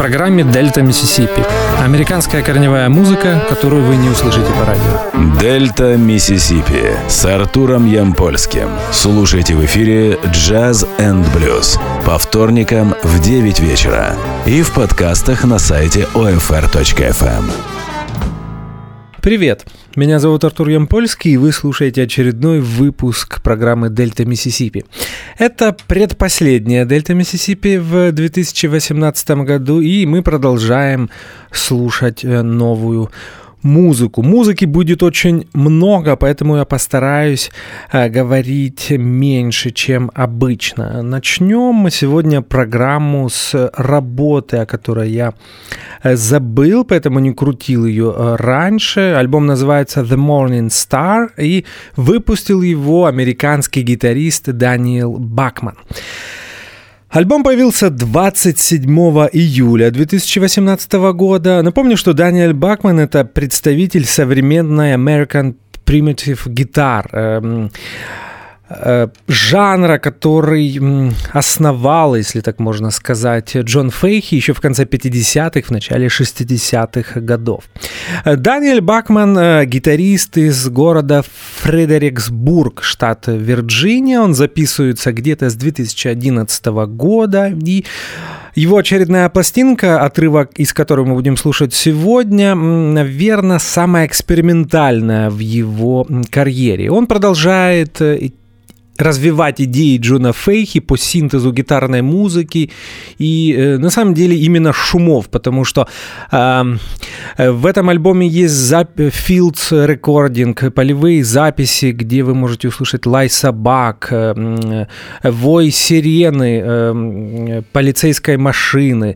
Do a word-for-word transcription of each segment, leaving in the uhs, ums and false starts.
программе «Дельта Миссисипи». Американская корневая музыка, которую вы не услышите по радио. «Дельта Миссисипи» с Артуром Ямпольским. Слушайте в эфире «Джаз энд блюз» по вторникам в девять вечера и в подкастах на сайте о эф эр точка эф эм. Привет, меня зовут Артур Ямпольский, и вы слушаете очередной выпуск программы «Дельта Миссисипи». Это предпоследняя «Дельта Миссисипи» в две тысячи восемнадцатом году, и мы продолжаем слушать новую музыку. Музыки будет очень много, поэтому я постараюсь э, говорить меньше, чем обычно. Начнем мы сегодня программу с работы, о которой я э, забыл, поэтому не крутил ее э, раньше. Альбом называется The Morning Star, и выпустил его американский гитарист Даниэл Бакман. Альбом появился двадцать седьмого июля две тысячи восемнадцатого года. Напомню, что Даниэл Бакман — это представитель современной American Primitive Guitar, э, э, жанра, который основал, если так можно сказать, Джон Фейхи еще в конце пятидесятых, в начале шестидесятых годов. Даниэл Бакман — гитарист из города Фредериксбург, штат Вирджиния. Он записывается где-то с две тысячи одиннадцатого года, и его очередная пластинка, отрывок из которой мы будем слушать сегодня, наверное, самая экспериментальная в его карьере. Он продолжает развивать идеи Джона Фейхи по синтезу гитарной музыки и, э, на самом деле, именно шумов, потому что э, в этом альбоме есть зап- Fields Recording, полевые записи, где вы можете услышать лай собак, э, вой сирены, э, полицейской машины,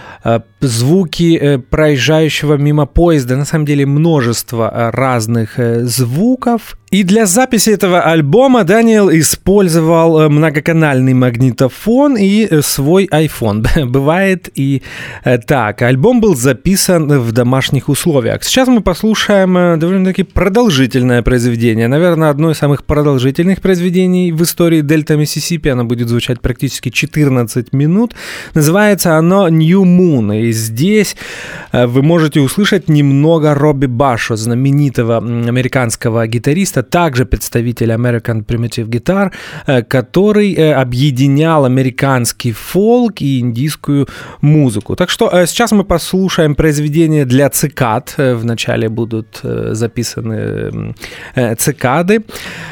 звуки проезжающего мимо поезда, на самом деле множество разных звуков. И для записи этого альбома Даниэл использовал многоканальный магнитофон и свой iPhone. Бывает и так. Альбом был записан в домашних условиях. Сейчас мы послушаем довольно-таки продолжительное произведение. Наверное, одно из самых продолжительных произведений в истории Дельта Миссисипи. Оно будет звучать практически четырнадцать минут. Называется оно New Moon. И здесь вы можете услышать немного Робби Башо, знаменитого американского гитариста, также представитель American Primitive Guitar, который объединял американский фолк и индийскую музыку. Так что сейчас мы послушаем произведение для цикад. Вначале будут записаны цикады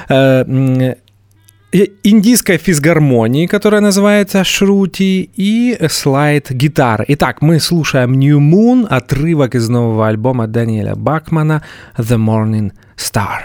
индийской физгармонии, которая называется шрути, и слайд-гитары. Итак, мы слушаем New Moon, отрывок из нового альбома Даниэля Бакмана The Morning Star.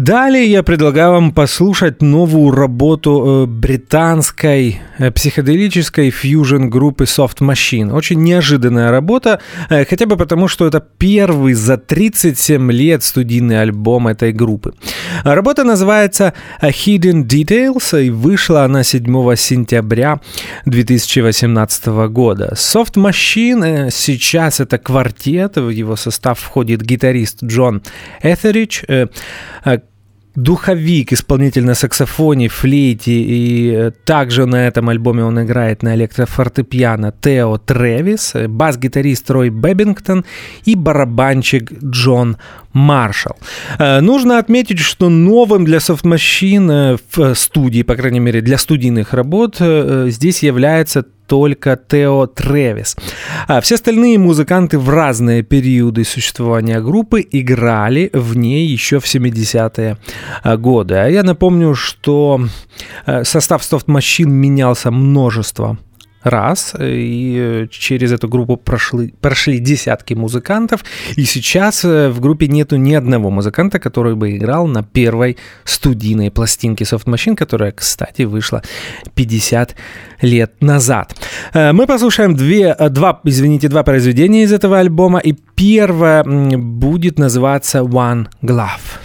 Далее я предлагаю вам послушать новую работу британской психоделической фьюжн-группы Soft Machine. Очень неожиданная работа, хотя бы потому, что это первый за тридцать семь лет студийный альбом этой группы. Работа называется Hidden Details, и вышла она седьмого сентября две тысячи восемнадцатого года. Soft Machine сейчас это квартет, в его состав входит гитарист Джон Этеридж, духовик, исполнитель на саксофоне, флейте, и также на этом альбоме он играет на электрофортепиано Тео Трэвис, бас-гитарист Рой Бэббингтон и барабанщик Джон Маршалл. Нужно отметить, что новым для Soft Machine в студии, по крайней мере для студийных работ, здесь является только Тео Трэвис. А все остальные музыканты в разные периоды существования группы играли в ней еще в семидесятые годы. А я напомню, что состав Soft Machine менялся множество раз, и через эту группу прошли, прошли десятки музыкантов, и сейчас в группе нету ни одного музыканта, который бы играл на первой студийной пластинке Soft Machine, которая, кстати, вышла пятьдесят лет назад. Мы послушаем две, два, извините, два произведения из этого альбома, и первое будет называться One Glove.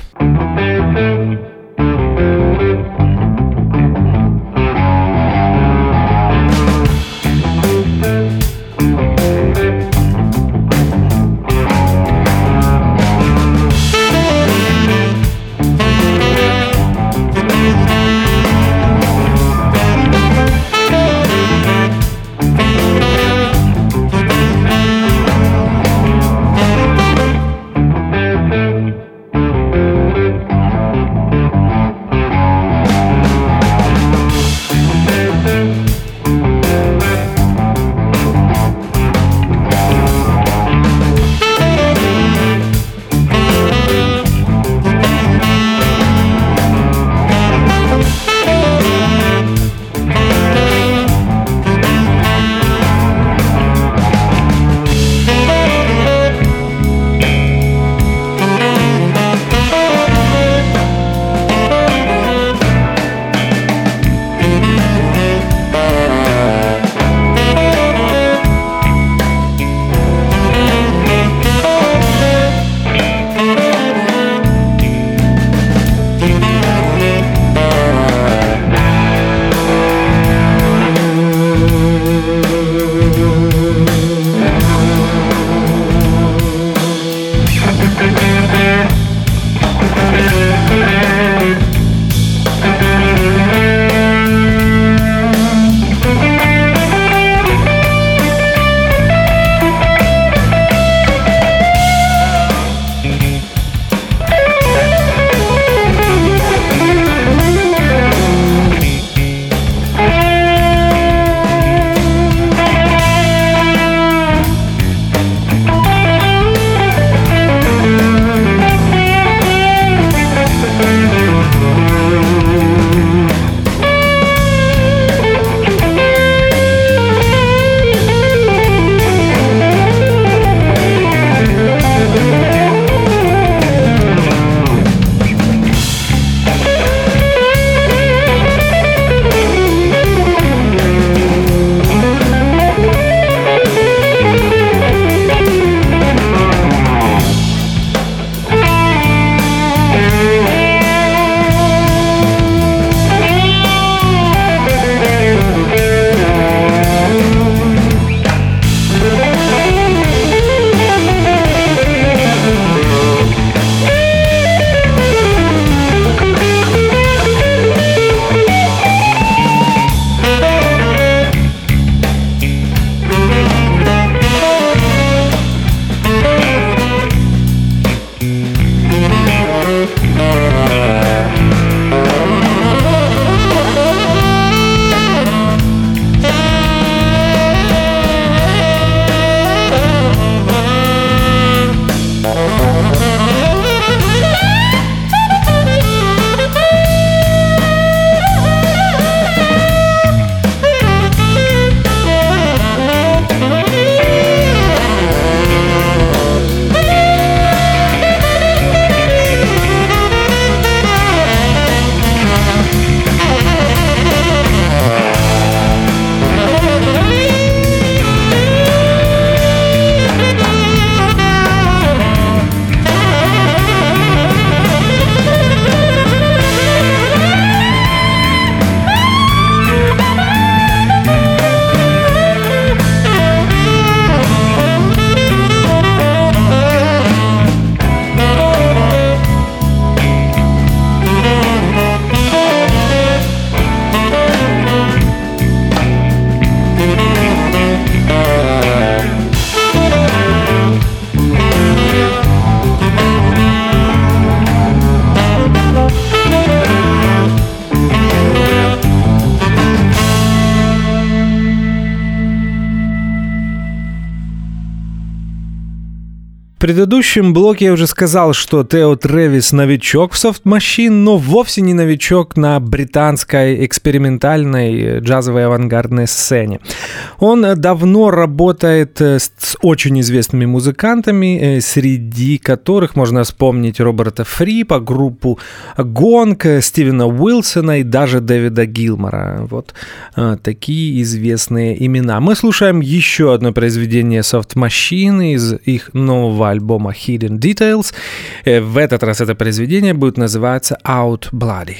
предыдущем блоке я уже сказал, что Тео Трэвис новичок в Soft Machine, но вовсе не новичок на британской экспериментальной джазовой авангардной сцене. Он давно работает с очень известными музыкантами, среди которых можно вспомнить Роберта Фрипа, группу Гонг, Стивена Уилсона и даже Дэвида Гилмора. Вот такие известные имена. Мы слушаем еще одно произведение Soft Machine из их нового альбома Hidden Details. В этот раз это произведение будет называться Out Bloody.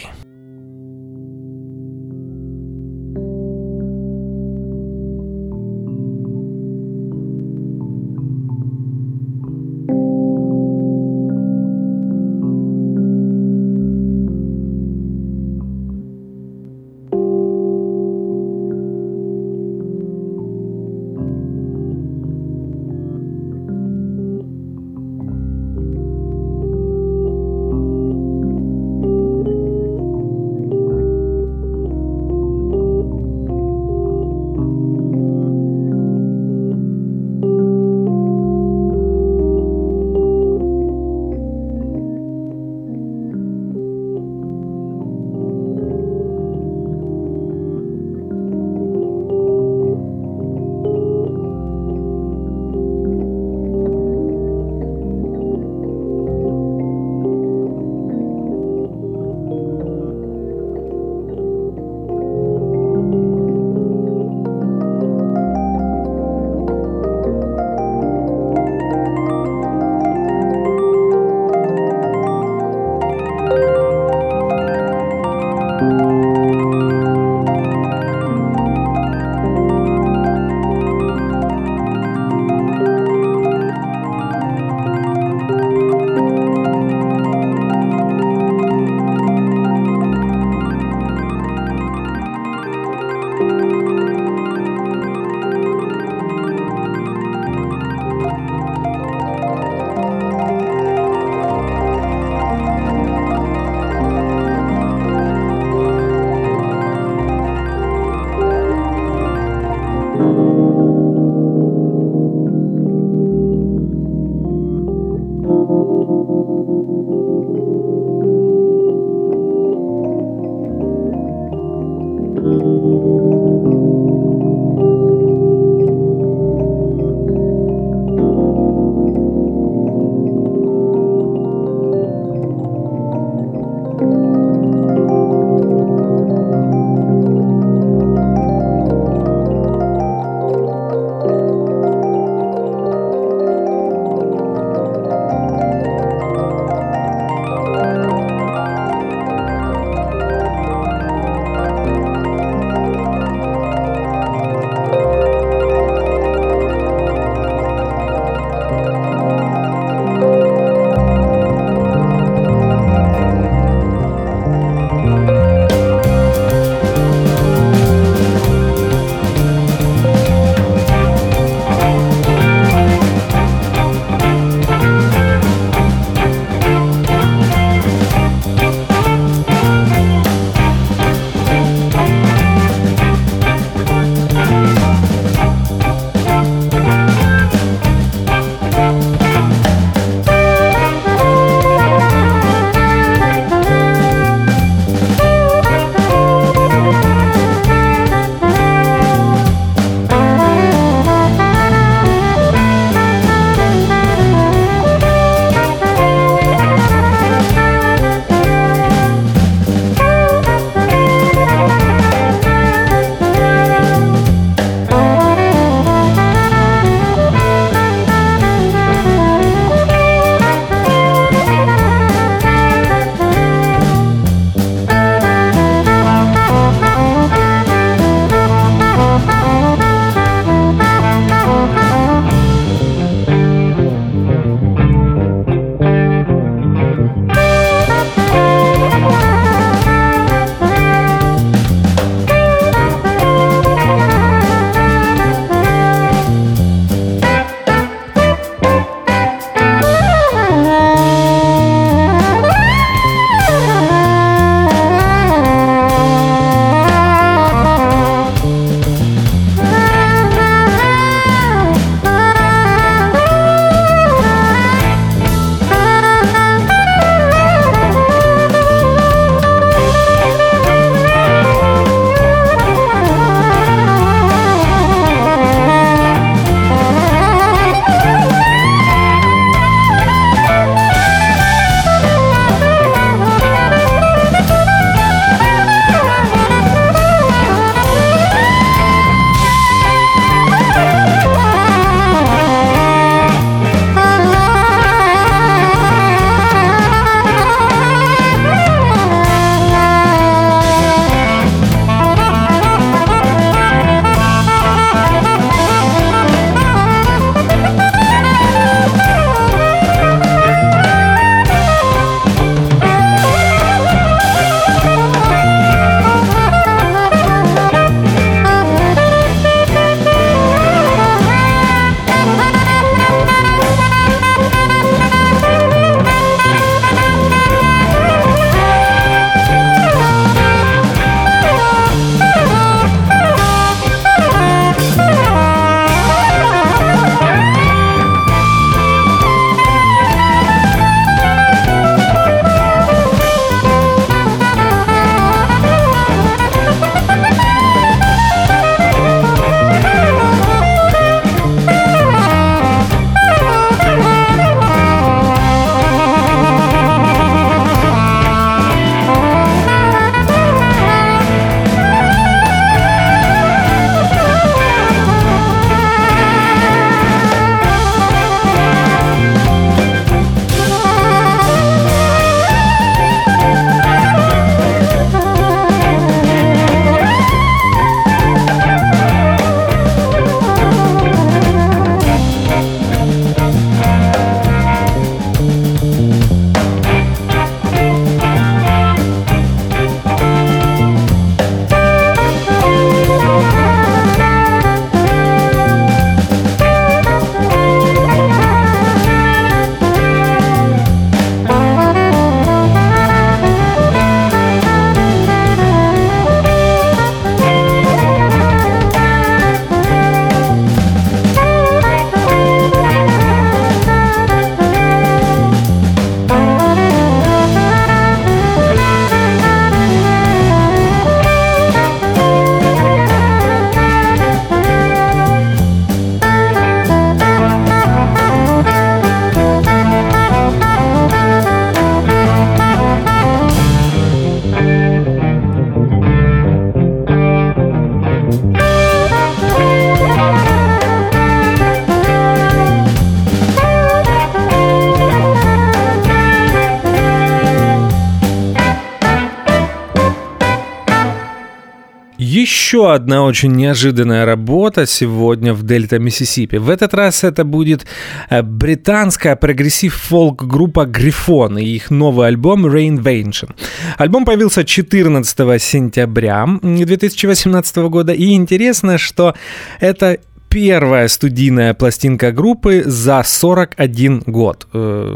еще одна очень неожиданная работа сегодня в Дельта Миссисипи. В этот раз это будет британская прогрессив-фолк-группа Грифон и их новый альбом Reinvention. Альбом появился четырнадцатого сентября две тысячи восемнадцатого года, и интересно, что это первая студийная пластинка группы за сорок один год.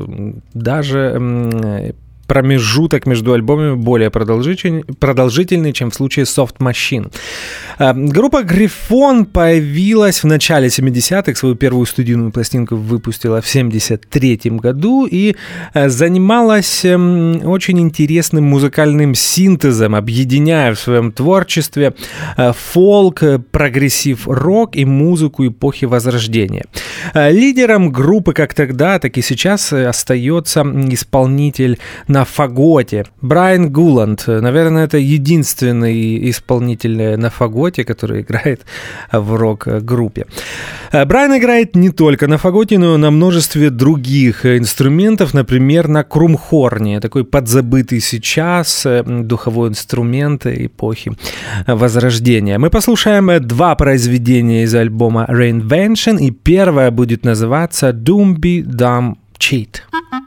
Даже промежуток между альбомами более продолжительный, продолжительный, чем в случае Soft Machine. Группа Грифон появилась в начале семидесятых, свою первую студийную пластинку выпустила в семьдесят третьем году и занималась очень интересным музыкальным синтезом, объединяя в своем творчестве фолк, прогрессив-рок и музыку эпохи Возрождения. Лидером группы как тогда, так и сейчас остается исполнитель на фаготе Брайан Гуланд. Наверное, это единственный исполнитель на фаготе, который играет в рок-группе. Брайан играет не только на фаготе, но и на множестве других инструментов, например, на крумхорне, такой подзабытый сейчас духовой инструмент эпохи Возрождения. Мы послушаем два произведения из альбома Reinvention, и первое будет называться Doomby Dumb Cheat.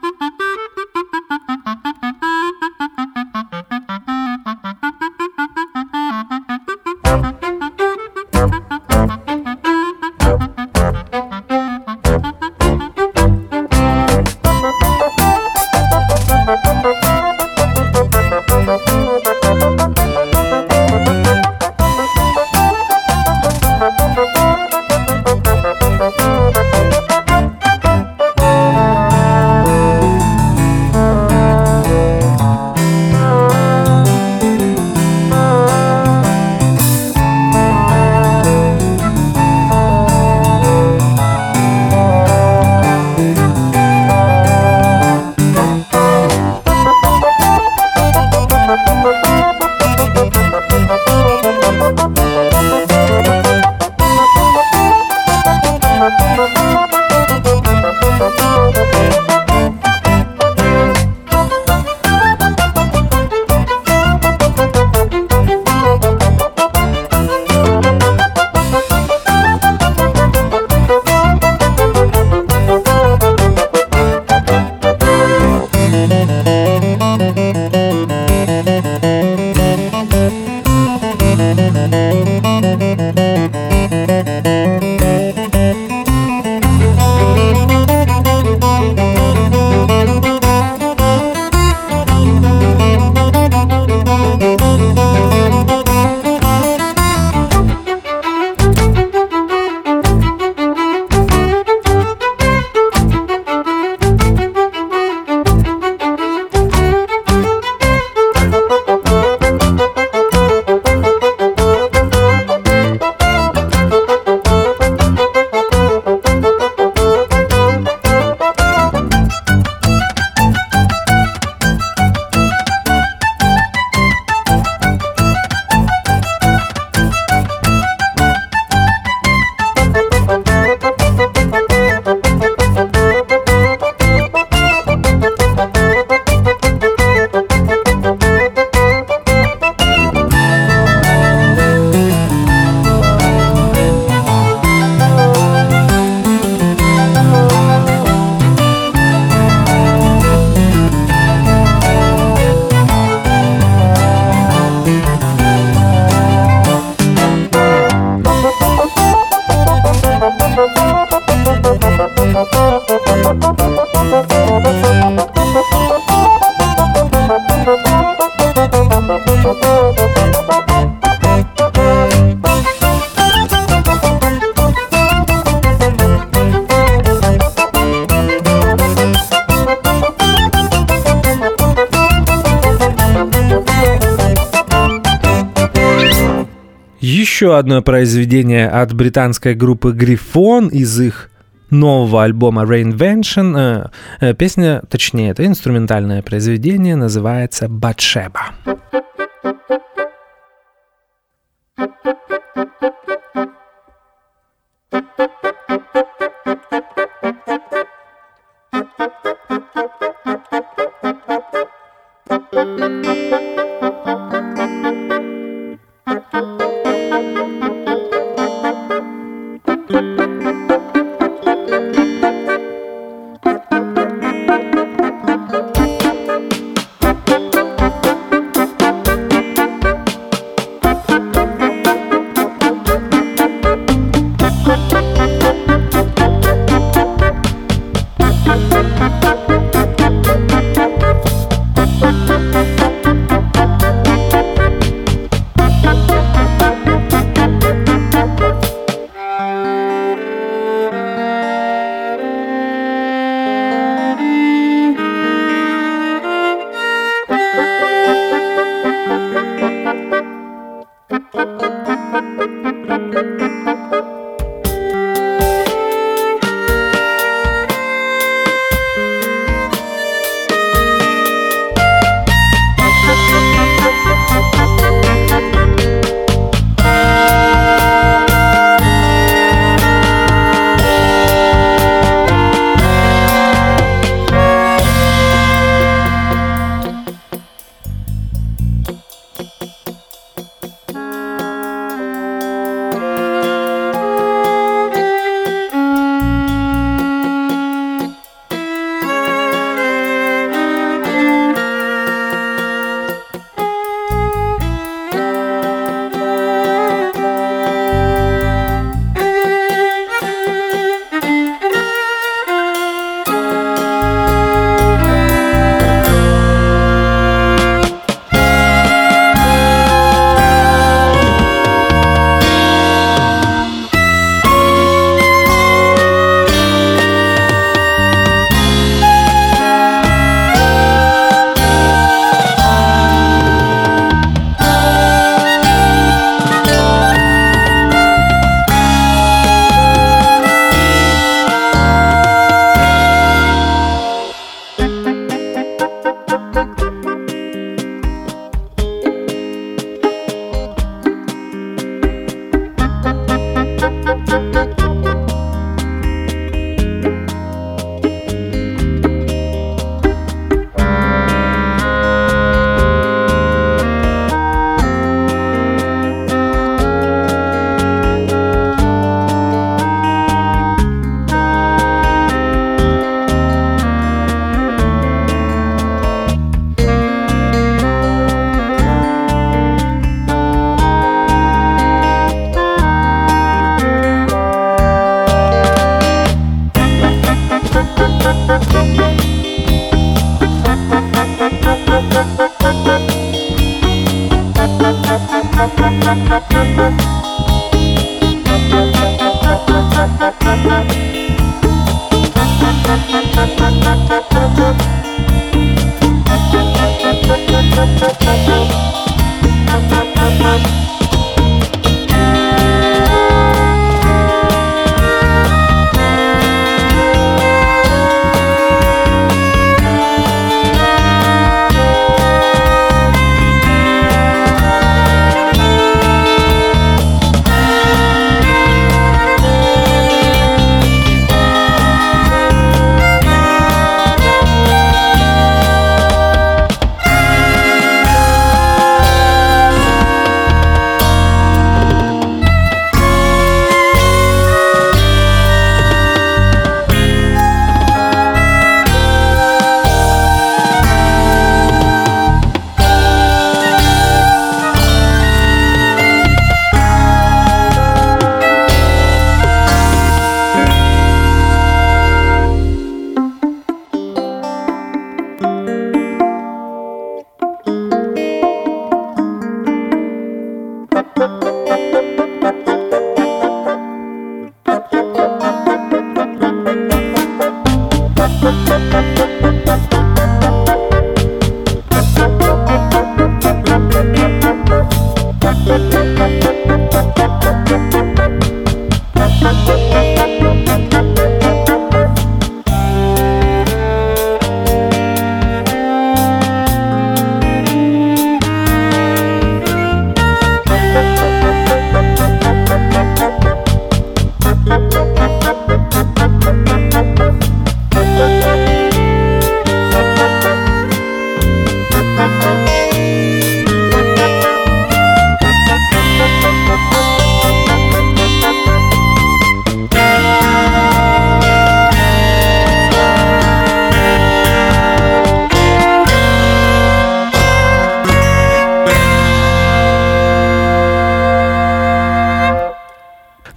Еще одно произведение от британской группы Грифон из их нового альбома Reinvention. Песня, точнее, это инструментальное произведение, называется «Батшеба».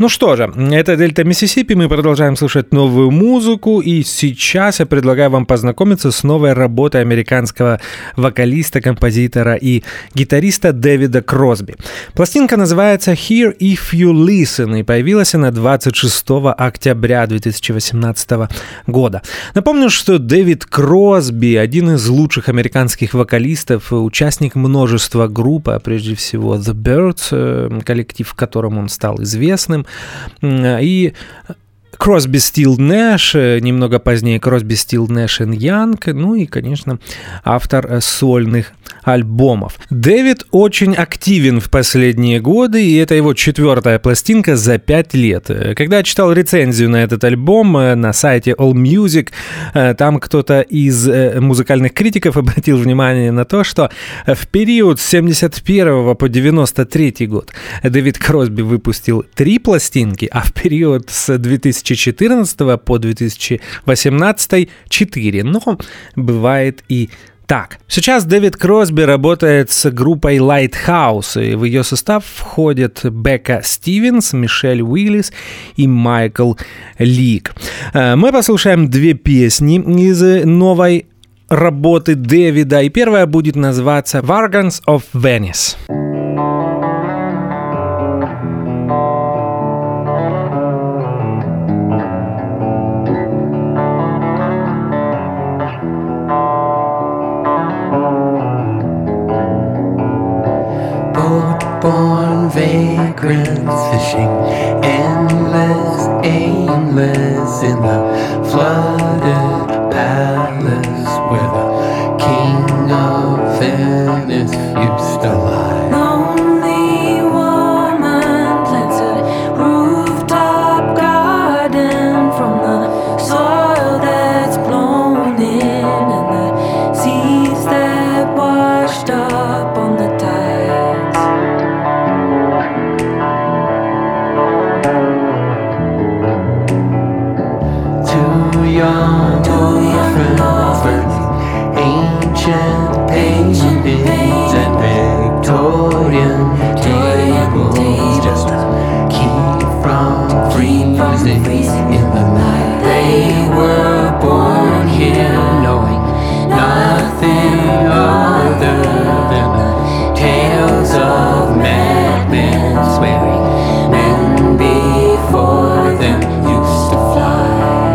Ну что же, это Дельта Миссисипи, мы продолжаем слушать новую музыку, и сейчас я предлагаю вам познакомиться с новой работой американского вокалиста, композитора и гитариста Дэвида Кросби. Пластинка называется «Here If You Listen», и появилась она двадцать шестого октября две тысячи восемнадцатого года. Напомню, что Дэвид Кросби — один из лучших американских вокалистов, участник множества групп, а прежде всего The Byrds, коллектив, в котором он стал известным, и Кросби, Стилл, Нэш, немного позднее Кросби, Стилл, Нэш и Янг, ну и, конечно, автор сольных альбомов. Дэвид очень активен в последние годы, и это его четвертая пластинка за пять лет. Когда я читал рецензию на этот альбом на сайте AllMusic, там кто-то из музыкальных критиков обратил внимание на то, что в период с семьдесят первого по девяносто третий год Дэвид Кросби выпустил три пластинки, а в период с две тысячи четырнадцатого по две тысячи восемнадцатый четыре. Но бывает и так. Сейчас Дэвид Кросби работает с группой Lighthouse, и в ее состав входят Бекка Стивенс, Мишель Уиллис и Майкл Лик. Мы послушаем две песни из новой работы Дэвида, и первая будет называться «Vargans of Venice». Born vagrants fishing, endless, aimless in the flooded palace where the king of Venice used to lie. Lonely woman plants a rooftop garden from the soil that's blown in and the seas that washed up on the tide. Young orphans, burning ancient paintings and Victorian tables just to keep from freezing in the night. They were born here knowing nothing other than the tales of madmen swearing men before them used to fly.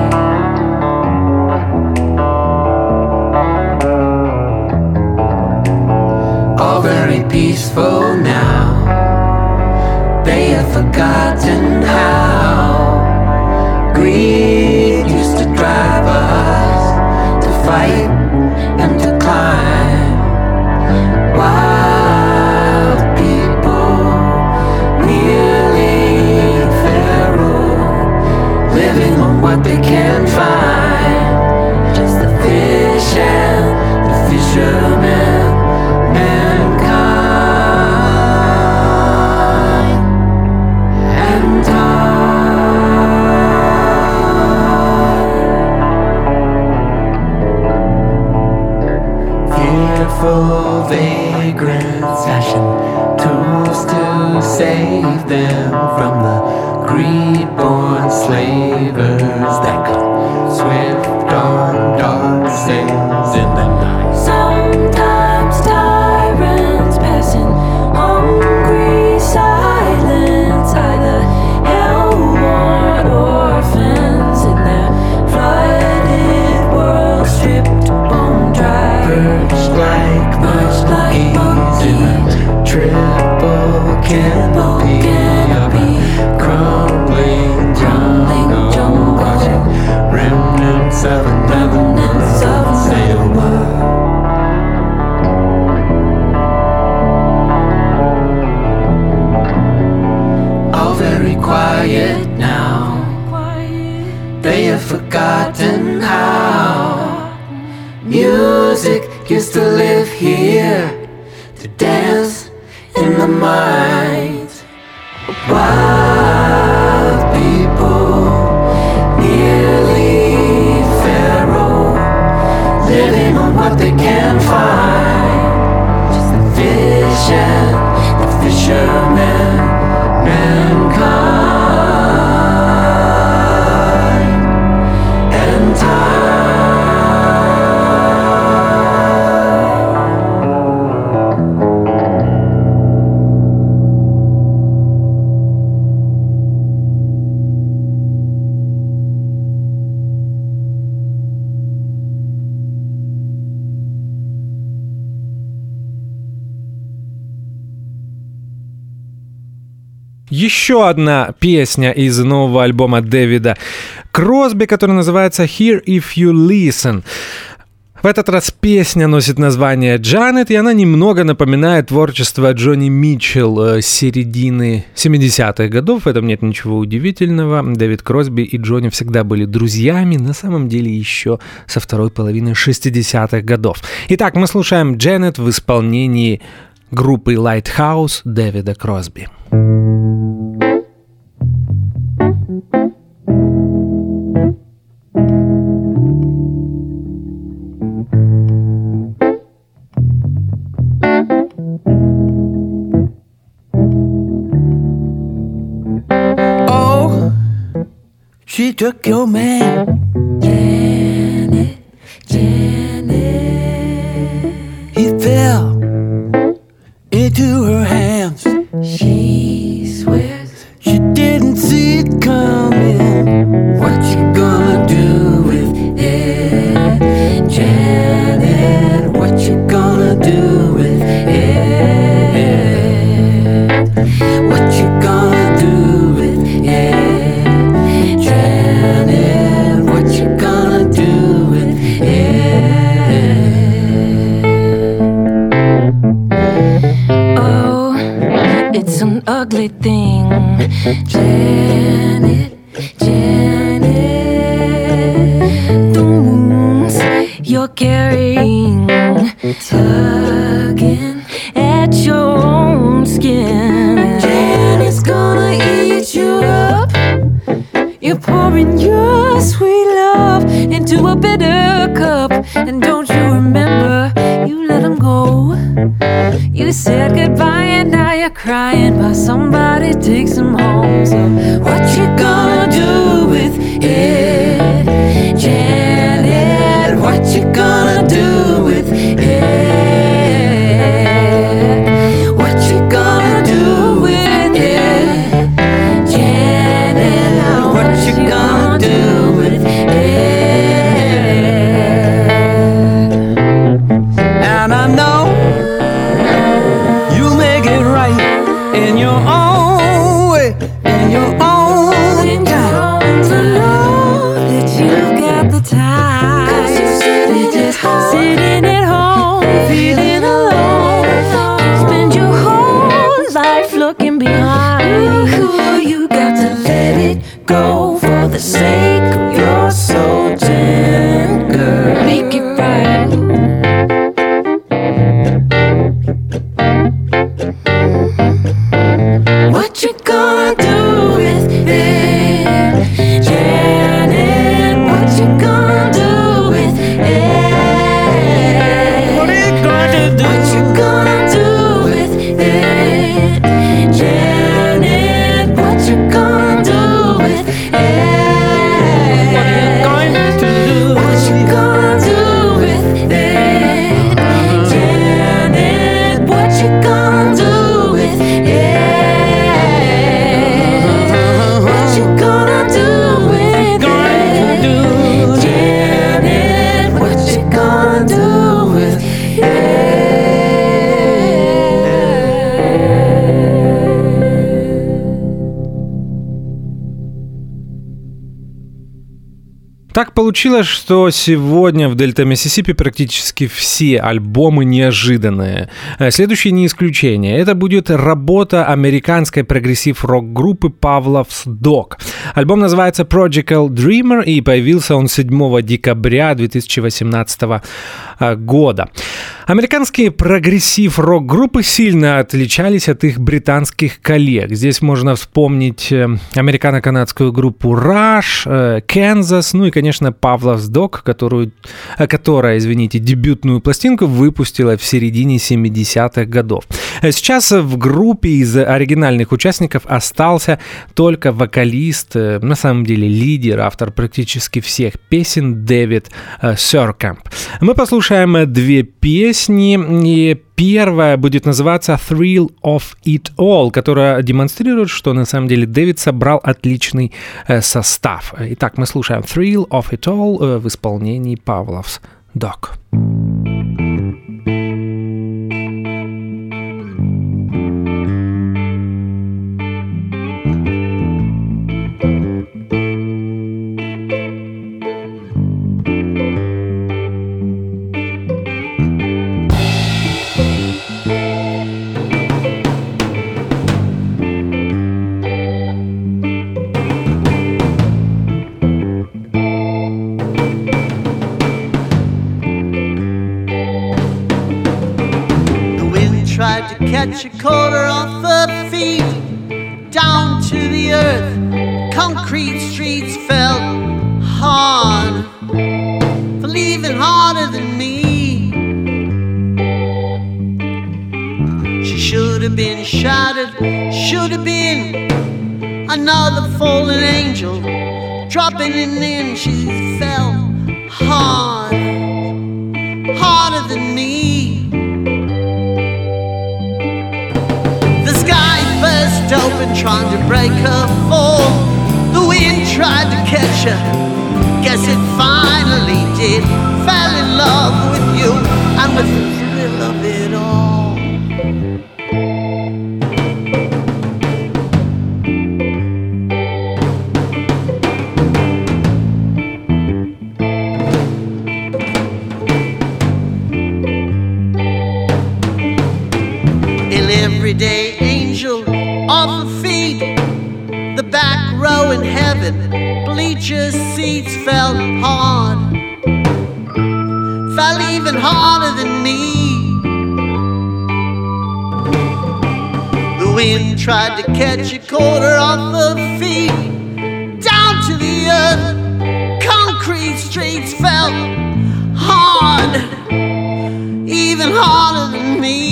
Peaceful now, they have forgotten how greed used to drive us to fight and to climb. Wild people, nearly feral, living on what they can find. Just the fish and the fishermen. Fearful vagrants fashion tools to save them from the greed-born slavers that come swift on dark sails in the night. Sometimes tyrants passing hungry silence, either hell-worn orphans in their flooded world stripped bone dry. Perched like monkeys in a triple canopy of a crumbling jungle, watching remnants of another world sail by. All very quiet now. They have forgotten how music used to live here, to dance in the minds of wild people, nearly feral, living on what they can find. Just the fish and the fishermen, mankind. еще одна песня из нового альбома Дэвида Кросби, который называется «Here If You Listen». В этот раз песня носит название «Джанет», и она немного напоминает творчество Джонни Митчелл с середины семидесятых годов. В этом нет ничего удивительного. Дэвид Кросби и Джонни всегда были друзьями, на самом деле еще со второй половины шестидесятых годов. Итак, мы слушаем «Джанет» в исполнении группы Lighthouse Дэвида Кросби. She took your man, Janet, Janet. He fell into her hands. She swears she didn't see it coming. What you gonna do with it, Janet? What you gonna do with it? What you gonna do with it? Ugly thing, Janet, Janet. The wounds you're carrying, tugging at your own skin. Janet's gonna eat you up. You're pouring your sweet love into a bitter cup. And don't you remember, you let him go. You said goodbye and now you're crying while somebody takes him home. So what you gonna do with it, Janet? What you gonna do with it? What you gonna do with it, Janet? What you gonna do with it? And I know in your own way, in your own time, to know that you've got the time. 'Cause you're sitting just sitting at home, feeling alone. Spend your whole life looking behind. Ooh, you got to let it go for the sake of your soul, Jen, girl. Make it right. What you gonna do with it, Janet? What you gonna do with it? What are you gonna do? What you gonna do with it, Janet? What you gonna do with it? What are you going to do? What you gonna do with it, Janet? What you gonna do with it? Так получилось, что сегодня в Дельта Миссисипи практически все альбомы неожиданные. Следующее не исключение. Это будет работа американской прогрессив-рок-группы Pavlov's Dog. Альбом называется Prodigal Dreamer, и появился он седьмого декабря две тысячи восемнадцатого года. Американские прогрессив-рок-группы сильно отличались от их британских коллег. Здесь можно вспомнить американо-канадскую группу Rush, Kansas, ну и, конечно, Pavlov's Dog, которую, которая, извините, дебютную пластинку выпустила в середине семидесятых годов. Сейчас в группе из оригинальных участников остался только вокалист, на самом деле лидер, автор практически всех песен Дэвид Сёркамп. Мы послушаем две песни, и первая будет называться Thrill of It All, которая демонстрирует, что на самом деле Дэвид собрал отличный состав. Итак, мы слушаем Thrill of It All в исполнении Pavlov's Dog. catch a quarter off her feet down to the earth. Concrete streets felt hard, for leaving harder than me. She should have been shattered, should have been another fallen angel, dropping in and she fell hard, harder than me. The sky burst open trying to break her fall. The wind tried to catch her, guess it finally did. Fell in love with you and with the thrill of it all. Everyday angel off her feet, the back row in heaven, bleacher seats felt hard, fell even harder than me. The wind tried to catch a quarter off her feet down to the earth. Concrete streets felt hard, even harder than me.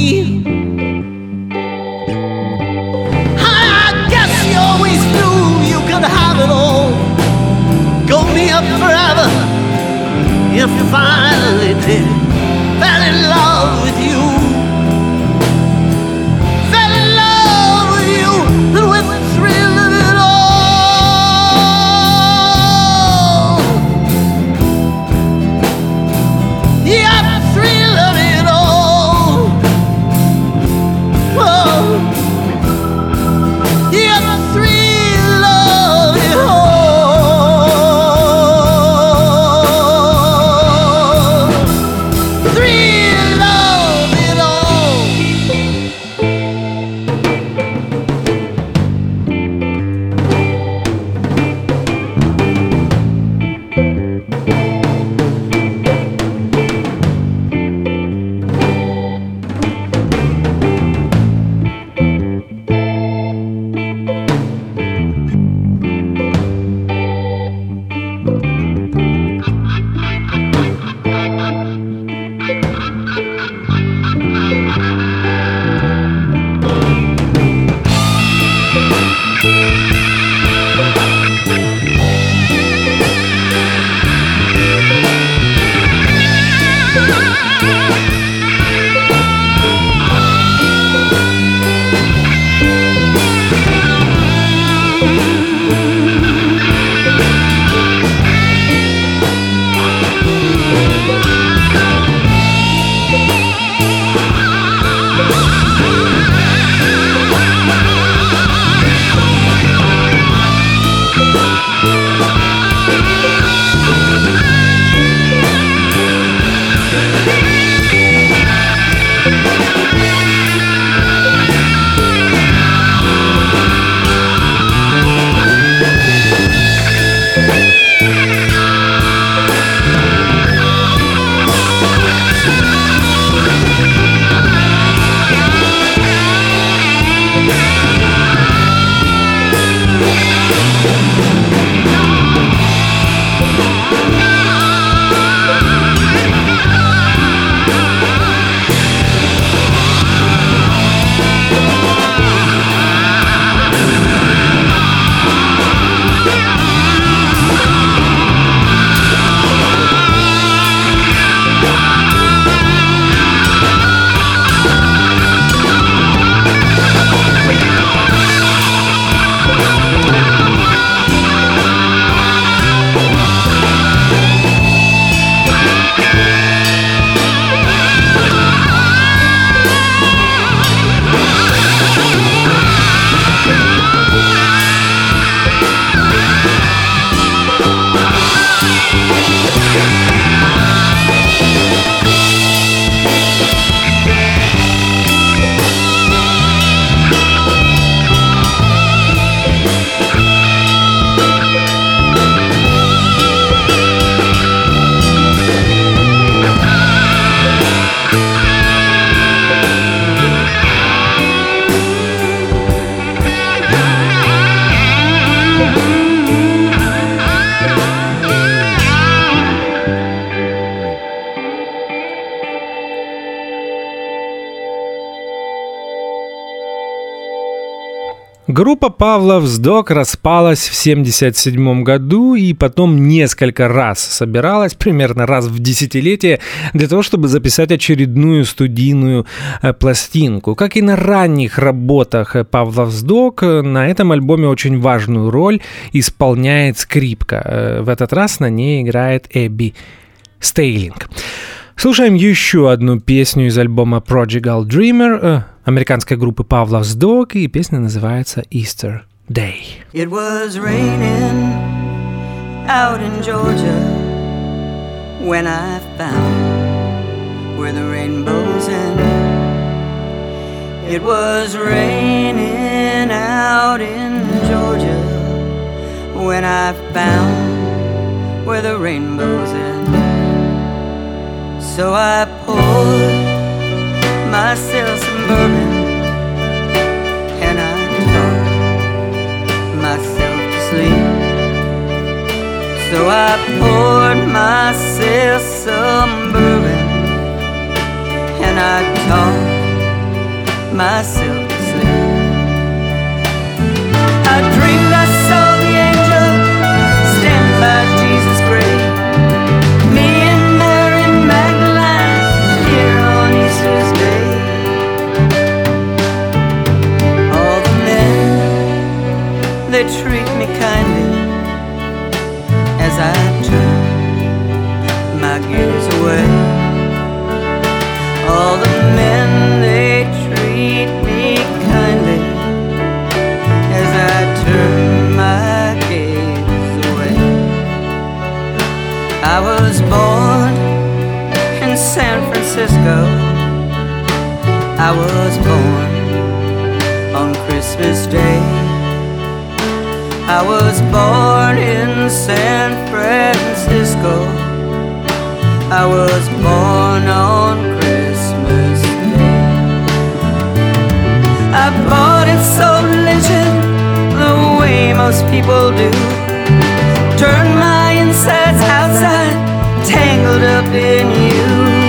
Always knew you could have it all, go me up forever. You finally did, fell in love with you, fell in love with you, and with the thrill of it all. Yeah, the thrill of it all. Whoa. Yeah, the thrill of it all. Группа Павла Вздок распалась в семьдесят седьмом году и потом несколько раз собиралась, примерно раз в десятилетие, для того, чтобы записать очередную студийную пластинку. Как и на ранних работах Павла Вздок, на этом альбоме очень важную роль исполняет скрипка. В этот раз на ней играет Эбби Стейлинг. Слушаем еще одну песню из альбома Prodigal Dreamer американской группы Павла Вздок, и песня называется Easter Day. It was raining out in Georgia when I found where the rainbows end. It was raining out in Georgia when I found where the rainbows end. So I poured myself some bourbon and I talked myself to sleep. So I poured myself some bourbon and I talked myself to sleep. I dreamed I saw the angel stand by Jesus' grave. They treat me kindly as I turn my gaze away. All the men, they treat me kindly as I turn my gaze away. I was born in San Francisco. I was born on Christmas Day. I was born in San Francisco. I was born on Christmas Day. I bought and sold religion the way most people do. Turned my insides outside, tangled up in you.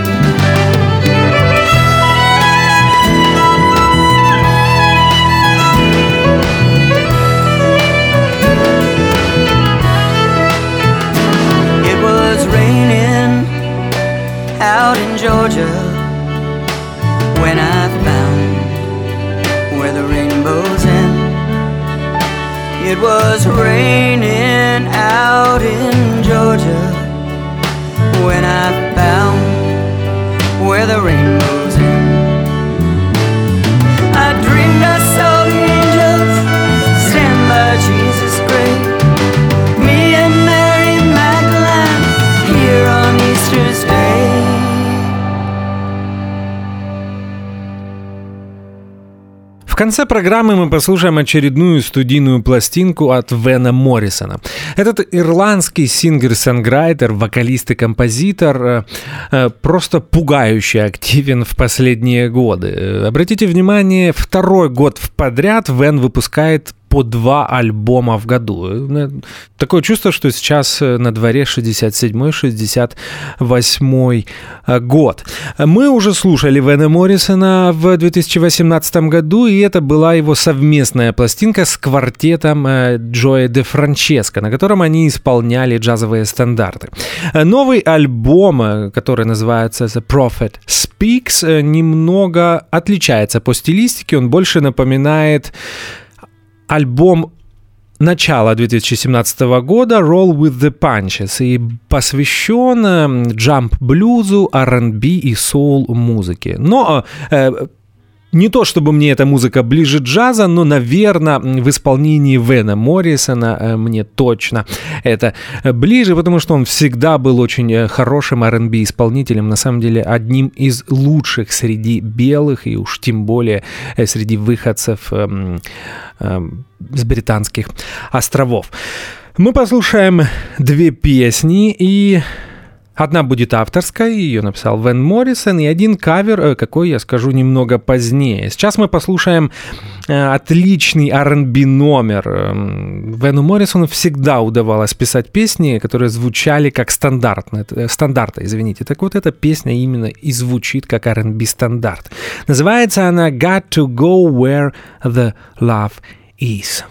Out in Georgia when I found where the rainbows end. It was raining out in Georgia when I found where the rainbows end. I dreamed I saw the angels stand by Jesus' grave. Me and Mary Magdalene here on Easter's Day. В конце программы мы послушаем очередную студийную пластинку от Вена Моррисона. Этот ирландский сингер-сонграйтер, вокалист и композитор просто пугающе активен в последние годы. Обратите внимание, второй год подряд Вен выпускает по два альбома в году. Такое чувство, что сейчас на дворе шестьдесят седьмой шестьдесят восьмой год. Мы уже слушали Вена Моррисона в две тысячи восемнадцатом году, и это была его совместная пластинка с квартетом Джоэ де Франческо, на котором они исполняли джазовые стандарты. Новый альбом, который называется The Prophet Speaks, немного отличается по стилистике, он больше напоминает альбом начала две тысячи семнадцатого года Roll with the Punches и посвящен джамп-блюзу, ар энд би и соул-музыке. Но э, не то, чтобы мне эта музыка ближе джаза, но, наверное, в исполнении Вена Моррисона мне точно это ближе, потому что он всегда был очень хорошим ар энд би-исполнителем, на самом деле одним из лучших среди белых и уж тем более среди выходцев э, э, с британских островов. Мы послушаем две песни, и одна будет авторской, ее написал Вен Моррисон, и один кавер, какой я скажу немного позднее. Сейчас мы послушаем отличный ар энд би номер. Вену Моррисону всегда удавалось писать песни, которые звучали как стандартные, стандарты, извините. Так вот, эта песня именно и звучит как ар энд би стандарт. Называется она «Got to go where the love Is.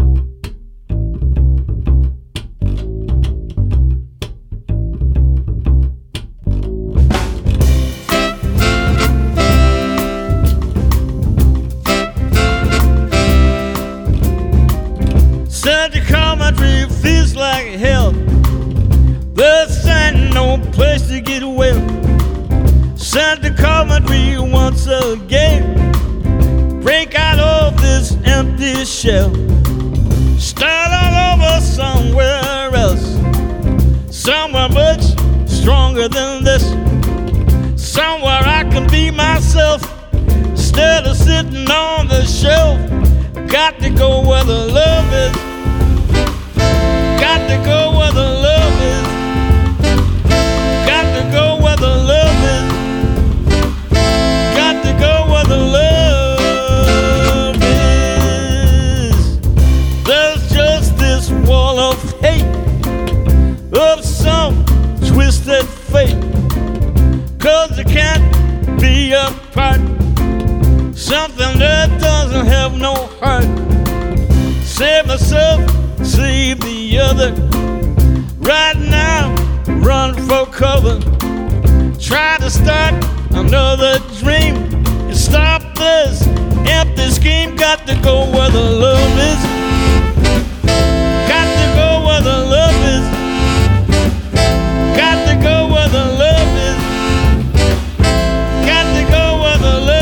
Such a country feels like hell. There's no place to get away. Such a country once again. Break out of this empty shell. Start all over somewhere else. Somewhere much stronger than this. Somewhere I can be myself instead of sitting on the shelf. Got to go where the love is. Got to go where the love is. Got to go where the love is. Got to go where the love is. There's just this wall of hate, of some twisted fate. Cause it can't be apart. Something that doesn't have no heart. Save myself, save the other. Right now, run for cover. Try to start another dream and stop this empty scheme. Got to go where the love is. Got to go where the love is. Got to go where the love is. Got to go where the love is.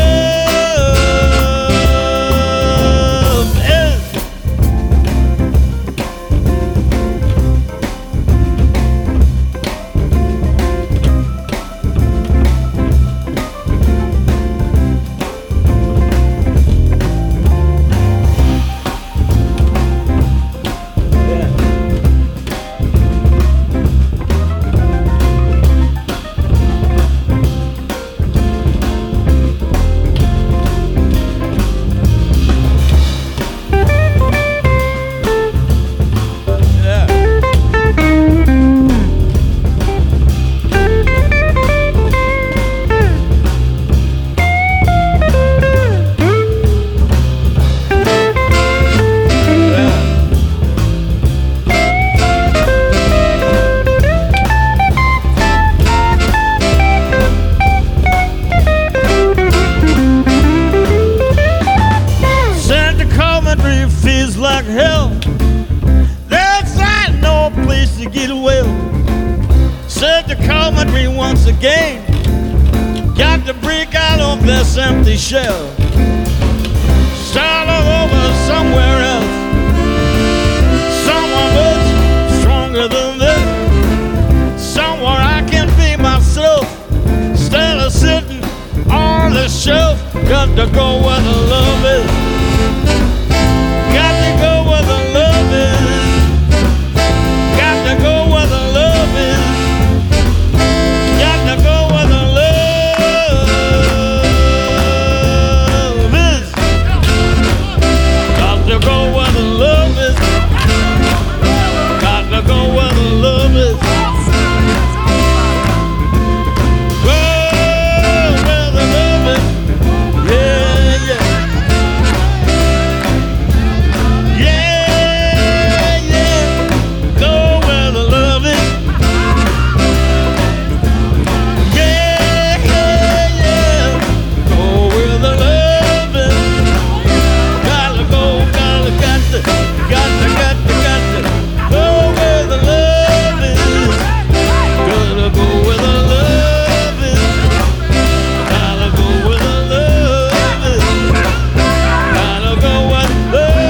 Empty shell. Start all over somewhere else. Somewhere much stronger than this. Somewhere I can be myself instead of sitting on the shelf. Got to go where the love is. Got to go where the love is. Got to go where the love is. Got to go where the love is. To go where the love is. Got to go where the love is. Go where the love is. Yeah, yeah. Yeah, yeah. Go where the love is. Yeah, yeah, yeah. Go where the love is. Gotta go. Got to, got to, got to, got to go where the love is. Gotta go where the love is. Gotta go where the love is. Gotta go where the love is.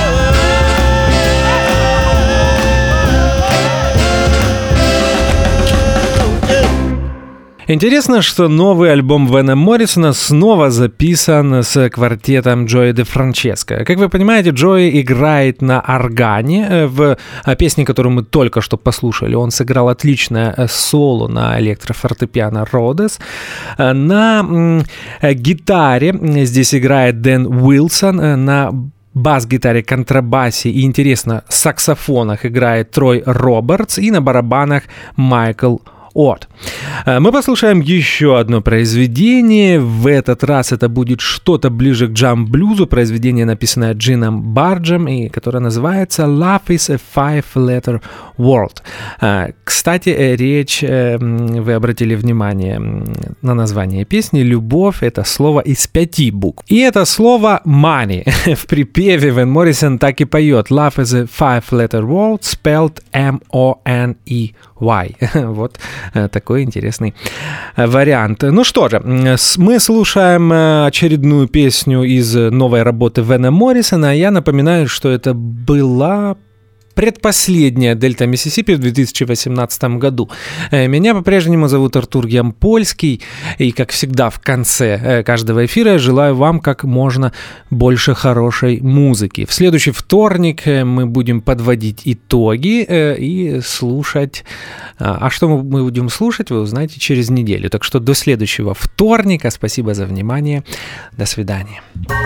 Интересно, что новый альбом Вена Моррисона снова записан с квартетом Джои де Франческо. Как вы понимаете, Джои играет на органе. В песне, которую мы только что послушали, он сыграл отличное соло на электрофортепиано Родес. На гитаре здесь играет Дэн Уилсон, на бас-гитаре, контрабасе и, интересно, саксофонах играет Трой Робертс и на барабанах Майкл от. Мы послушаем еще одно произведение. В этот раз это будет что-то ближе к джам-блюзу. Произведение, написанное Джином Барджем, и которое называется «Love is a five-letter word». Кстати, речь, вы обратили внимание на название песни, «Любовь» — это слово из пяти букв. И это слово «money». В припеве Ван Моррисон так и поет «Love is a five-letter word, spelled эм о эн и вай». Вот такой интересный вариант. Ну что же, мы слушаем очередную песню из новой работы Вана Моррисона. Я напоминаю, что это была предпоследняя Дельта Миссисипи в две тысячи восемнадцатом году. Меня по-прежнему зовут Артур Ямпольский, и, как всегда, в конце каждого эфира я желаю вам как можно больше хорошей музыки. В следующий вторник мы будем подводить итоги и слушать. А что мы будем слушать, вы узнаете через неделю. Так что до следующего вторника. Спасибо за внимание. До свидания.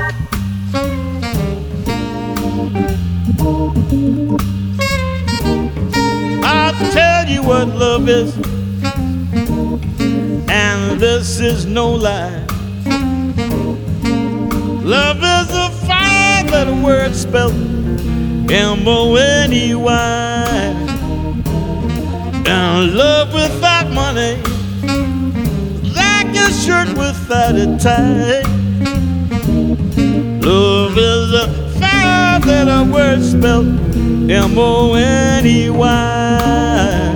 I'll tell you what love is, and this is no lie. Love is a five-letter word spelled M O N E Y. And love without money, like a shirt without a tie. Love is a five-letter word spelled M O N E Y.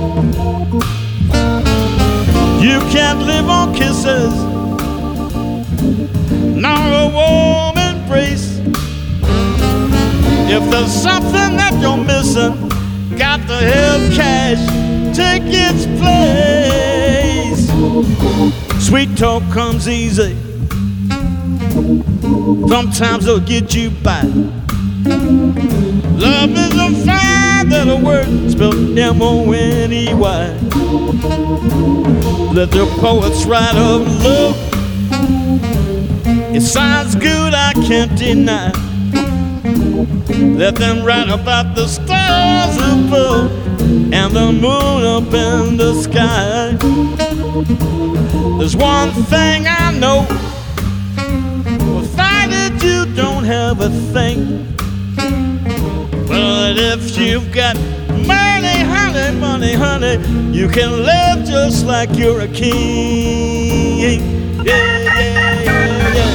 You can't live on kisses, nor a warm embrace. If there's something that you're missing, got to have cash take its place. Sweet talk comes easy, sometimes it'll get you by. Love is a five-letter word spelled M O N E Y. Let the poets write of love. It sounds good, I can't deny. Let them write about the stars above and the moon up in the sky. There's one thing I know, without it you don't have a thing. But if you've got money, honey, money, honey, you can live just like you're a king. Yeah, yeah, yeah, yeah.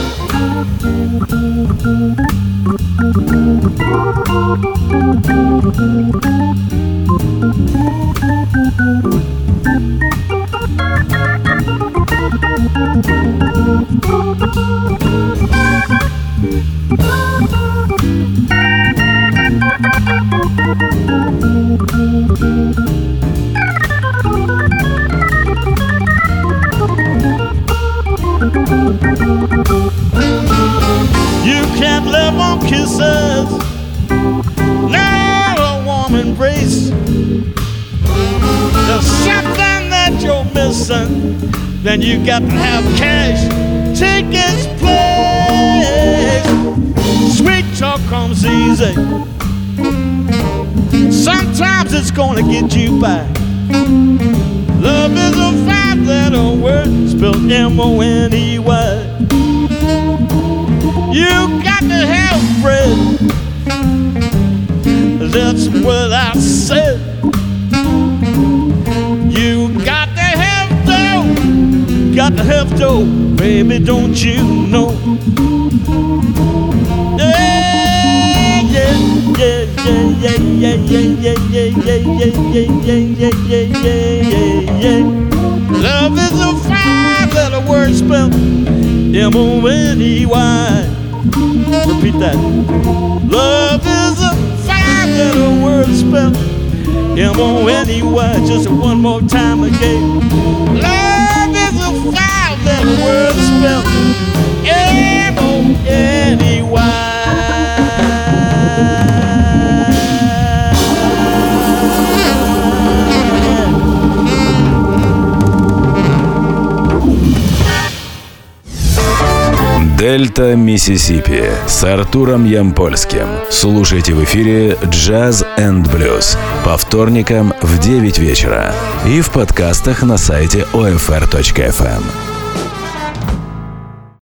You can't live on kisses, nor a warm embrace. There's something that you're missing, then you got to have cash take its place. Sweet talk comes easy, sometimes it's gonna get you by. Love is a five-letter word spelled M O N E Y. You got to have bread, that's what I said. You got to have dough, got to have dough, baby, don't you know? Yeah, yeah, yeah, yeah, yeah, yeah, yeah, yeah, yeah, yeah, yeah, yeah, yeah, yeah. Love is a five-letter word spelled M O N E Y. Repeat that. Love is a five-letter word spelled M O N E Y. Just one more time again. Love is a five-letter word spelled M O N E Y. Дельта Дельта Миссисипи с Артуром Ямпольским. Слушайте в эфире Jazz and Blues по вторникам в девять вечера и в подкастах на сайте о эф эр точка эф эм.